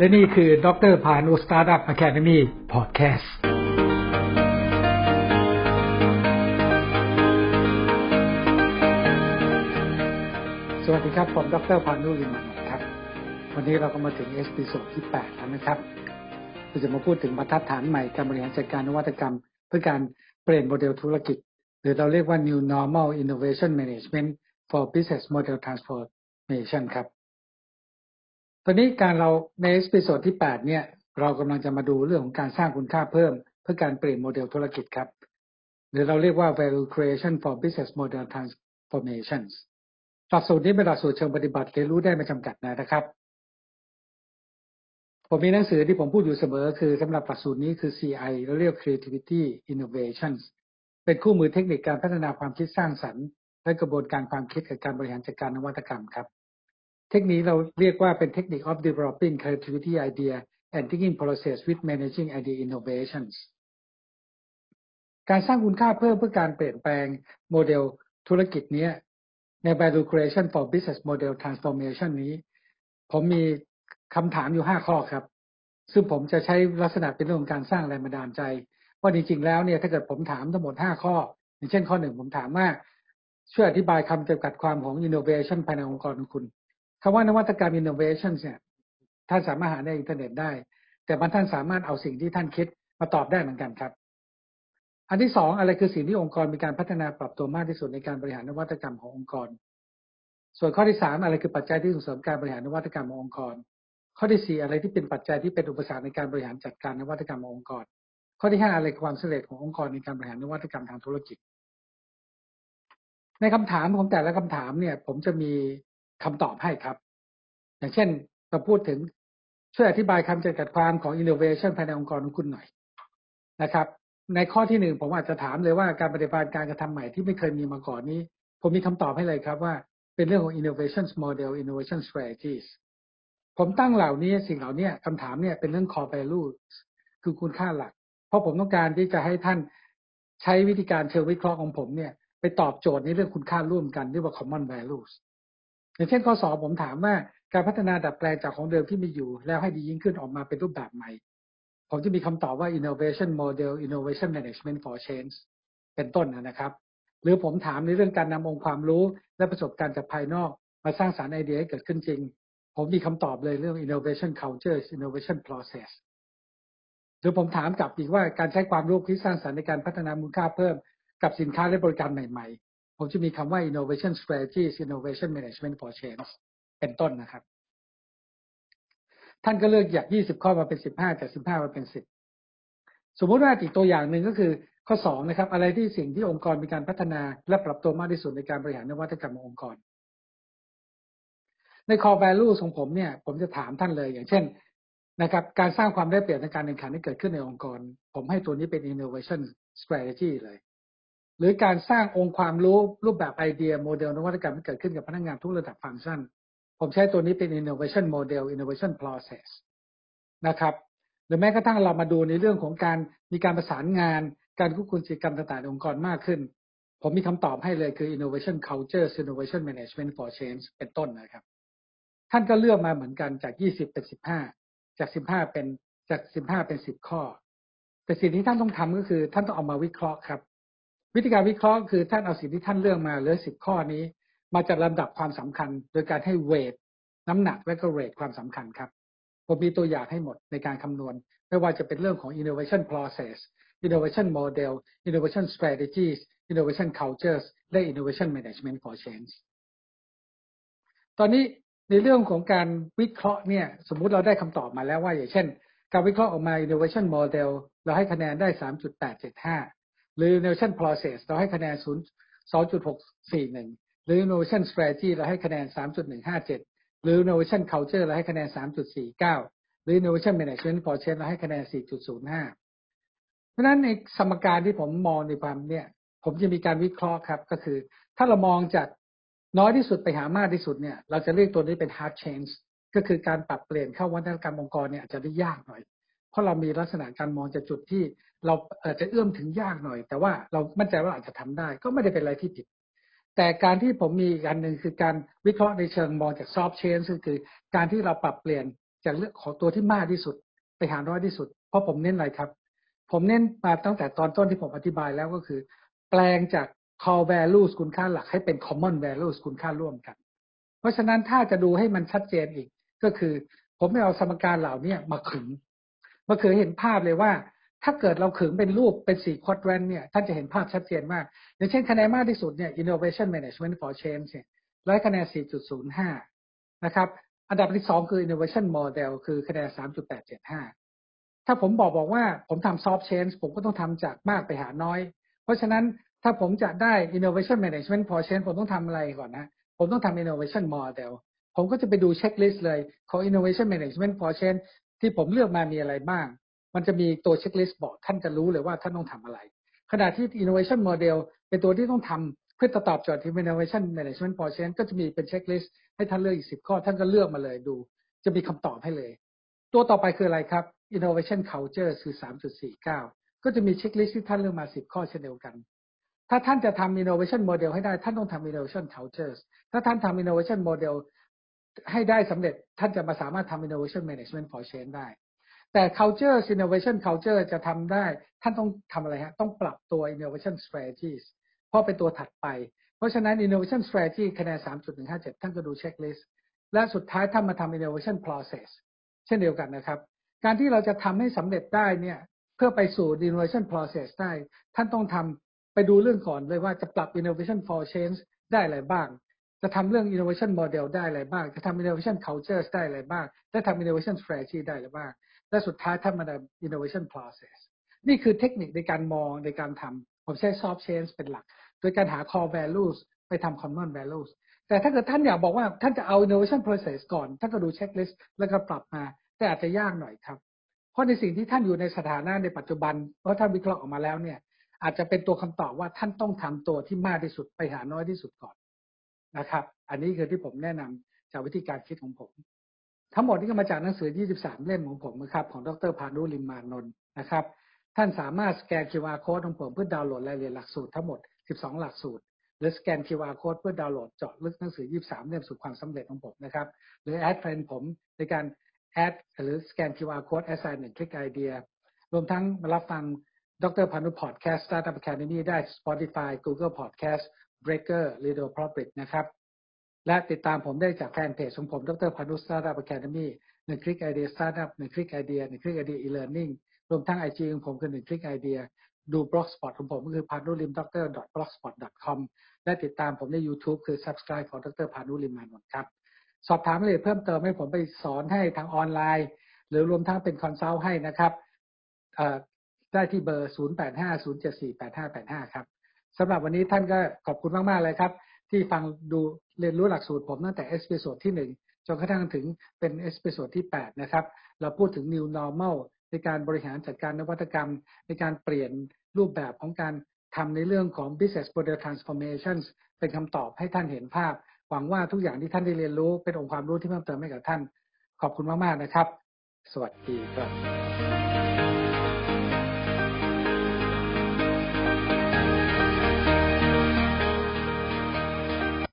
และนี่คือดร.พานุ Startup Academy Podcast สวัสดีครับผมดร.พานุ ลิมมานนท์ครับวันนี้เราก็มาถึงเอพิโซดที่8แล้วนะครับเราจะมาพูดถึงบรรทัดฐานใหม่การบริหารจัดการนวัตกรรมเพื่อการเปลี่ยนโมเดลธุรกิจหรือเราเรียกว่า New Normal Innovation Management for Business Model Transformation ครับตอนนี้เราในเอพิโซดที่8เนี่ยเรากำลังจะมาดูเรื่องของการสร้างคุณค่าเพิ่มเพื่อการเปลี่ยนโมเดลธุรกิจครับหรือเราเรียกว่า Value Creation for Business Model Transformations หลักสูตรนี้เป็นหลักสูตรเชิงปฏิบัติเรียนรู้ได้ไม่จำกัดนะครับผมมีหนังสือที่ผมพูดอยู่เสมอคือสำหรับหลักสูตรนี้คือ CI เราเรียก Creativity Innovations เป็นคู่มือเทคนิคการพัฒนาความคิดสร้างสรรค์และกระบวนการความคิดกับการบริหารจัดการนวัตกรรมครับเทคนิคเราเรียกว่าเป็น Technique of Developing Creativity Idea and Thinking Process with Managing Idea Innovations การสร้างคุณค่าเพิ่มเพื่อการเปลี่ยนแปลงโมเดลธุรกิจนี้ใน Value Creation for Business Model Transformation นี้ผมมีคำถามอยู่5ข้อครับซึ่งผมจะใช้ลักษณะเป็นเรื่องของการสร้างแรงบันดาลใจว่าจริงๆแล้วเนี่ยถ้าเกิดผมถามทั้งหมด5ข้ออย่างเช่นข้อ1ผมถามว่าช่วยอธิบายคำจำกัดความของ innovation ภายในองค์กรของคุณคำว่านวัตกรรม innovation เนี่ยท่านสามารถหาในอินเทอร์เน็ตได้แต่ท่านสามารถเอาสิ่งที่ท่านคิดมาตอบได้เหมือนกันครับอันที่2อะไรคือสิ่งที่องค์กรมีการพัฒนาปรับตัวมากที่สุดในการบริหารนวัตกรรมขององค์กรส่วนข้อที่3อะไรคือปัจจัยที่ส่งเสริมการบริหารนวัตกรรมขององค์กรข้อที่4อะไรที่เป็นปัจจัยที่เป็นอุปสรรคในการบริหารจัดการนวัตกรรมขององค์กรข้อที่5อะไรคือความสำเร็จขององค์กรในการบริหารนวัตกรรมทางธุรกิจในคำถามของแต่ละคำถามเนี่ยผมจะมีคำตอบให้ครับอย่างเช่นเราพูดถึงช่วยอธิบายคำจำกัดความของ innovation ภายในองค์กรของคุณหน่อยนะครับในข้อที่1ผมอาจจะถามเลยว่าการปฏิบัติการกระทำใหม่ที่ไม่เคยมีมาก่อนนี้ผมมีคำตอบให้เลยครับว่าเป็นเรื่องของ innovation model innovation strategies ผมตั้งสิ่งเหล่านี้คำถามเนี่ยเป็นเรื่อง core value คือคุณค่าหลักเพราะผมต้องการที่จะให้ท่านใช้วิธีการเชิงวิเคราะห์ของผมเนี่ยไปตอบโจทย์ในเรื่องคุณค่าร่วมกันเรียกว่า common values อย่างเช่นข้อ2ผมถามว่าการพัฒนาดัดแปลงจากของเดิมที่มีอยู่แล้วให้ดียิ่งขึ้นออกมาเป็นรูปแบบใหม่ผมจะมีคำตอบว่า innovation model innovation management for change เป็นต้นนะครับหรือผมถามในเรื่องการนำองค์ความรู้และประสบการณ์จากภายนอกมาสร้างสรรค์ไอเดียให้เกิดขึ้นจริงผมมีคำตอบเลยเรื่อง innovation culture innovation process หรือผมถามกลับอีกว่าการใช้ความรู้คิดสร้างสรรค์ในการพัฒนามูลค่าเพิ่มกับสินค้าและบริการใหม่ๆผมจะมีคำว่า innovation strategies innovation management for change เป็นต้นนะครับท่านก็เลือกจาก20ข้อมาเป็น15จาก15มาเป็น10สมมุติว่าอีกตัวอย่างหนึ่งก็คือข้อ2นะครับอะไรที่สิ่งที่องค์กรมีการพัฒนาและปรับตัวมากที่สุดในการบริหารนวัตกรรมขององค์กรใน core value ของผมเนี่ยผมจะถามท่านเลยอย่างเช่นนะครับการสร้างความได้เปรียบในการแข่งขันที่เกิดขึ้นในองค์กรผมให้ตัวนี้เป็น innovation strategy เลยหรือการสร้างองค์ความรู้รูปแบบไอเดียโมเดลนวัตกรรมที่เกิดขึ้นกับพนักงานทุกระดับฟังก์ชันผมใช้ตัวนี้เป็น innovation model innovation process นะครับหรือแม้กระทั่งเรามาดูในเรื่องของการมีการประสานงานการควบคุมกิจกรรมต่างๆในองค์กรมากขึ้นผมมีคำตอบให้เลยคือ innovation culture innovation management for change เป็นต้นนะครับท่านก็เลือกมาเหมือนกันจาก20เป็น15จาก15เป็น10ข้อแต่สิ่งที่ท่านต้องทำก็คือท่านต้องเอามาวิเคราะห์ครับวิธีการวิเคราะห์คือท่านเอาสิ่งที่ท่านเลือกมาเหลือ10ข้อนี้มาจัดลำดับความสำคัญโดยการให้เวทน้ำหนักและก็เรทความสำคัญครับผมมีตัวอย่างให้หมดในการคำนวณไม่ว่าจะเป็นเรื่องของ innovation process innovation model innovation strategies innovation cultures และ innovation management for change ตอนนี้ในเรื่องของการวิเคราะห์เนี่ยสมมุติเราได้คำตอบมาแล้วว่าอย่างเช่นการวิเคราะห์ออกมา innovation model เราให้คะแนนได้ 3.875 หรือ innovation process เราให้คะแนน 2.641 หรือ innovation strategy เราให้คะแนน 3.157 หรือ innovation culture เราให้คะแนน 3.49 หรือ innovation management for change เราให้คะแนน 4.05 เพราะฉะนั้นในสมการที่ผมมองในความเนี่ยผมจะมีการวิเคราะห์ครับก็คือถ้าเรามองจากน้อยที่สุดไปหามากที่สุดเนี่ยเราจะเรียกตัวนี้เป็น hard change ก็คือการปรับเปลี่ยนเข้าวัฒนธรรมองค์กรเนี่ยอาจจะได้ยากหน่อยเพราะเรามีลักษณะการมองจากจุดที่เราอาจจะเอื้อมถึงยากหน่อยแต่ว่าเรามั่นใจว่าอาจจะทำได้ก็ไม่ได้เป็นอะไรที่ผิดแต่การที่ผมมีอีกอันหนึ่งคือการวิเคราะห์ในเชิงมองจาก soft change ก็คือการที่เราปรับเปลี่ยนจากเรื่องของตัวที่มากที่สุดไปหาน้อยที่สุดเพราะผมเน้นอะไรครับผมเน้นมาตั้งแต่ตอนต้นที่ผมอธิบายแล้วก็คือแปลงจาก core values คุณค่าหลักให้เป็น common values คุณค่าร่วมกันเพราะฉะนั้นถ้าจะดูให้มันชัดเจนอีกก็คือผมไม่เอาสมการเหล่านี้มาขึงเห็นภาพเลยว่าถ้าเกิดเราขึงเป็นรูปเป็น4 quadrant เนี่ยท่านจะเห็นภาพชัดเจนมากอย่างเช่นคะแนนมากที่สุดเนี่ย innovation management for change เนี่ยได้คะแนน 4.05 นะครับอันดับที่2คือ innovation model คือคะแนน 3.875 ถ้าผมบอกว่าผมทำ soft change ผมก็ต้องทำจากมากไปหาน้อยเพราะฉะนั้นถ้าผมจะได้ innovation management for change ผมต้องทำอะไรก่อนนะผมต้องทำ innovation model ผมก็จะไปดูเช็คลิสต์เลยของ innovation management for change ที่ผมเลือกมามีอะไรบ้างมันจะมีตัวเช็คลิสต์บอกท่านจะรู้เลยว่าท่านต้องทำอะไรขณะที่ innovation model เป็นตัวที่ต้องทำเพื่อตอบโจทย์ที่ innovation management for change ก็จะมีเป็นเช็คลิสต์ให้ท่านเลือกอีก10 ข้อท่านก็เลือกมาเลยดูจะมีคำตอบให้เลยตัวต่อไปคืออะไรครับ innovation culture คือ 3.49 ก็จะมีเช็คลิสต์ที่ท่านเลือกมา10 ข้อเช่นเดียวกันถ้าท่านจะทำ innovation model ให้ได้ท่านต้องทำ innovation culture ถ้าท่านทำ innovation model ให้ได้สำเร็จท่านจะมาสามารถทำ innovation management for change ได้แต่ culture innovation culture จะทำได้ท่านต้องทำอะไรฮะต้องปรับตัว innovation strategies เพราะเป็นตัวถัดไปเพราะฉะนั้น innovation strategy คะแนน 3.157 ท่านก็ดูเช็คลิสต์และสุดท้ายท่านมาทำ innovation process เช่นเดียวกันนะครับการที่เราจะทำให้สำเร็จได้เนี่ยเพื่อไปสู่ innovation process ได้ท่านต้องทำไปดูเรื่องก่อนเลยว่าจะปรับ innovation for change ได้อะไรบ้างจะทำเรื่อง innovation model ได้อะไรบ้างจะทำ innovation culture ได้อะไรบ้างและทำ innovation strategy ได้อะไรบ้างและสุดท้ายท่านมาทำ innovation process นี่คือเทคนิคในการมองในการทำผมใช้ soft change เป็นหลักโดยการหา core values ไปทำ common values แต่ถ้าเกิดท่านอยากบอกว่าท่านจะเอา innovation process ก่อนท่านก็ดู checklist แล้วก็ปรับมาแต่อาจจะยากหน่อยครับเพราะในสิ่งที่ท่านอยู่ในสถานะในปัจจุบันเพราะท่านวิเคราะห์ออกมาแล้วเนี่ยอาจจะเป็นตัวคำตอบว่าท่านต้องทำตัวที่มากที่สุดไปหาน้อยที่สุดก่อนนะครับอันนี้คือที่ผมแนะนำจากวิธีการคิดของผมทั้งหมดนี้ก็มาจากหนังสือ23 เล่มของผมนะครับของดร.พานุลิมมานนท์นะครับท่านสามารถสแกน QR Code ของผมเพื่อดาวน์โหลดรายละเอียดหลักสูตรทั้งหมด12 หลักสูตรหรือสแกน QR Code เพื่อดาวน์โหลดเจาะลึกหนังสือ23 เล่มสู่ความสำเร็จของผมนะครับหรือแอดเฟรนด์ผมในการแอดหรือสแกน QR Code assign 1 Click Idea รวมทั้งมารับฟังดร.พานุพอดแคสต์ Startup Academy ได้ Spotify Google Podcast Breaker Radio Public นะครับและติดตามผมได้จากแฟนเพจของผมดร.พานุ Startup Academy 1 Click Idea Startup 1 Click Idea 1 Click Idea E-Learning รวมทั้ง IG ของผมคือ1 Click Idea ดู Blogspot ของผมก็คือ panulimdoctor.blogspot.com และติดตามผมใน YouTube คือ Subscribe ของดร.พานุลิมมานนท์ครับสอบถามรายละเอียดเพิ่มเติมให้ผมไปสอนให้ทางออนไลน์หรือรวมทั้งเป็นคอนซัลท์ให้นะครับได้ที่เบอร์ 0850748585 ครับสำหรับวันนี้ท่านก็ขอบคุณมากๆเลยครับที่ฟังดูเรียนรู้หลักสูตรผมตั้งแต่เอพิโซดที่1จนกระทั่งถึงเป็นเอพิโซดที่8นะครับเราพูดถึง New Normal ในการบริหารจัดการนวัตกรรมในการเปลี่ยนรูปแบบของการทำในเรื่องของ business model transformation เป็นคำตอบให้ท่านเห็นภาพหวังว่าทุกอย่างที่ท่านได้เรียนรู้เป็นองค์ความรู้ที่เพิ่มเติมให้กับท่านขอบคุณมากๆนะครับสวัสดีครับ